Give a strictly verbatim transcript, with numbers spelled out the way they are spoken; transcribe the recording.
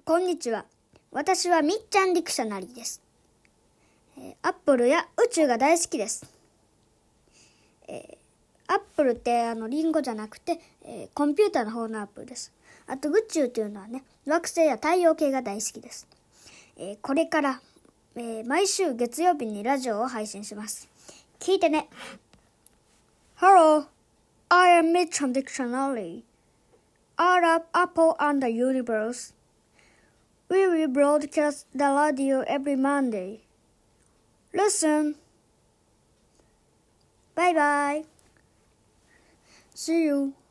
こんにちは。私はみっちゃんディクショナリーです。えー、アップルや宇宙が大好きです。えー、アップルってあのリンゴじゃなくて、えー、コンピューターの方のアップルです。あと宇宙っていうのはね、惑星や太陽系が大好きです。えー、これから、えー、毎週月曜日にラジオを配信します。聞いてね。Hello, I am Mitcham Dictionary. Out of Apple and the universe, we will broadcast the radio every Monday. Listen. Bye bye. See you.